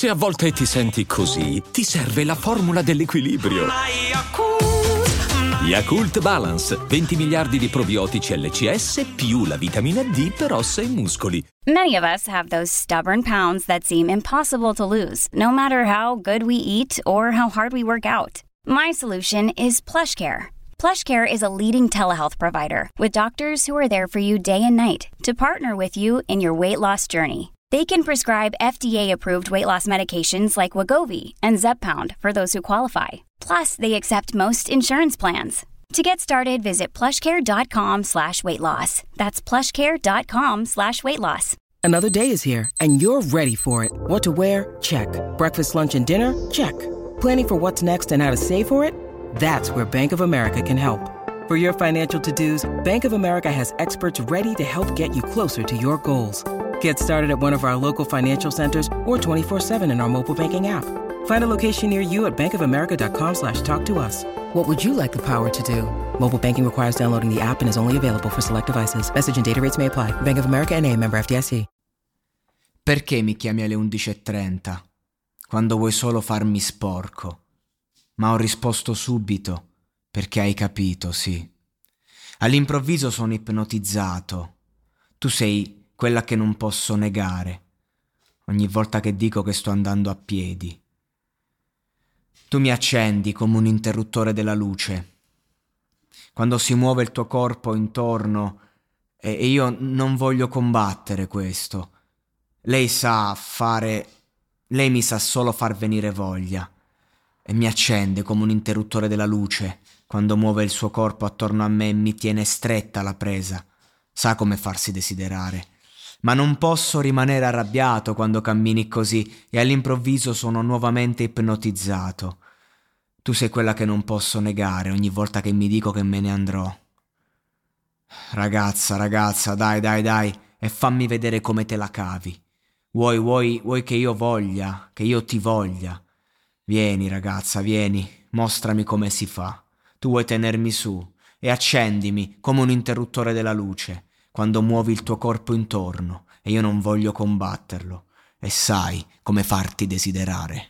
Se a volte ti senti così, ti serve la formula dell'equilibrio. Yakult Balance, 20 miliardi di probiotici LCS più la vitamina D per ossa e muscoli. Many of us have those stubborn pounds that seem impossible to lose, no matter how good we eat or how hard we work out. My solution is PlushCare. PlushCare is a leading telehealth provider with doctors who are there for you day and night to partner with you in your weight loss journey. They can prescribe FDA-approved weight loss medications like Wegovy and Zepbound for those who qualify. Plus, they accept most insurance plans. To get started, visit plushcare.com/weightloss. That's plushcare.com/weightloss. Another day is here, and you're ready for it. What to wear? Check. Breakfast, lunch, and dinner? Check. Planning for what's next and how to save for it? That's where Bank of America can help. For your financial to-dos, Bank of America has experts ready to help get you closer to your goals. Get started at one of our local financial centers or 24/7 in our mobile banking app. Find a location near you at bankofamerica.com/talktous. What would you like the power to do? Mobile banking requires downloading the app and is only available for select devices. Message and data rates may apply. Bank of America N.A., member FDIC. Perché mi chiami alle 11:30? Quando vuoi solo farmi sporco. Ma ho risposto subito, perché hai capito, sì. All'improvviso sono ipnotizzato. Tu sei quella che non posso negare. Ogni volta che dico che sto andando a piedi. Tu mi accendi come un interruttore della luce. Quando si muove il tuo corpo intorno e io non voglio combattere questo. Lei mi sa solo far venire voglia e mi accende come un interruttore della luce quando muove il suo corpo attorno a me e mi tiene stretta la presa. Sa come farsi desiderare. Ma non posso rimanere arrabbiato quando cammini così e all'improvviso sono nuovamente ipnotizzato. Tu sei quella che non posso negare ogni volta che mi dico che me ne andrò. Ragazza, dai, e fammi vedere come te la cavi. Vuoi che io voglia, che io ti voglia? Vieni, ragazza, vieni, mostrami come si fa. Tu vuoi tenermi su e accendimi come un interruttore della luce quando muovi il tuo corpo intorno e io non voglio combatterlo e sai come farti desiderare.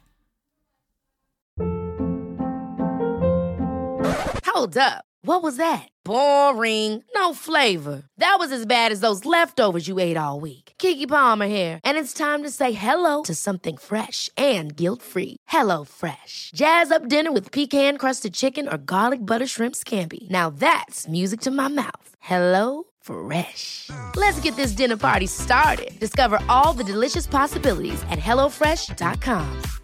Hold up. What was that? Boring. No flavor. That was as bad as those leftovers you ate all week. Keke Palmer here, and it's time to say hello to something fresh and guilt-free. Hello Fresh. Jazz up dinner with pecan-crusted chicken or garlic butter shrimp scampi. Now that's music to my mouth. Hello Fresh. Let's get this dinner party started. Discover all the delicious possibilities at HelloFresh.com.